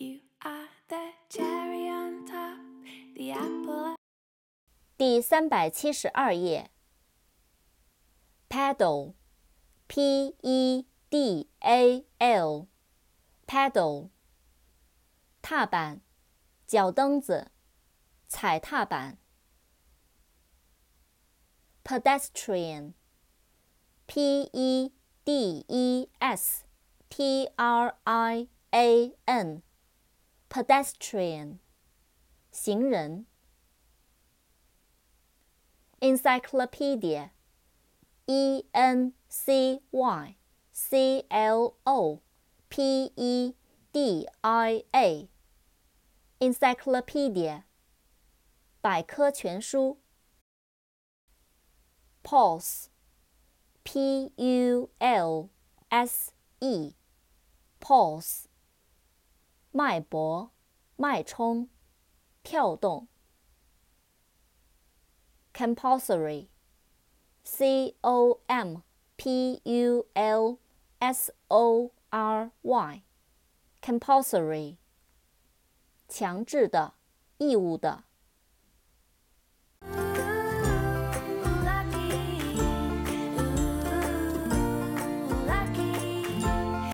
You are the cherry on top, the apple. 第372页 Pedal P-E-D-A-L Pedal 踏板脚蹬子踩踏板 Pedestrian P-E-D-E-S-T-R-I-A-N Pedestrian 行人 Encyclopedia E-N-C-Y-C-L-O-P-E-D-I-A Encyclopedia 百科全书 Pulse P-U-L-S-E Pulse 脉搏脉冲跳动 Compulsory C-O-M-P-U-L-S-O-R-Y Compulsory 强制的义务的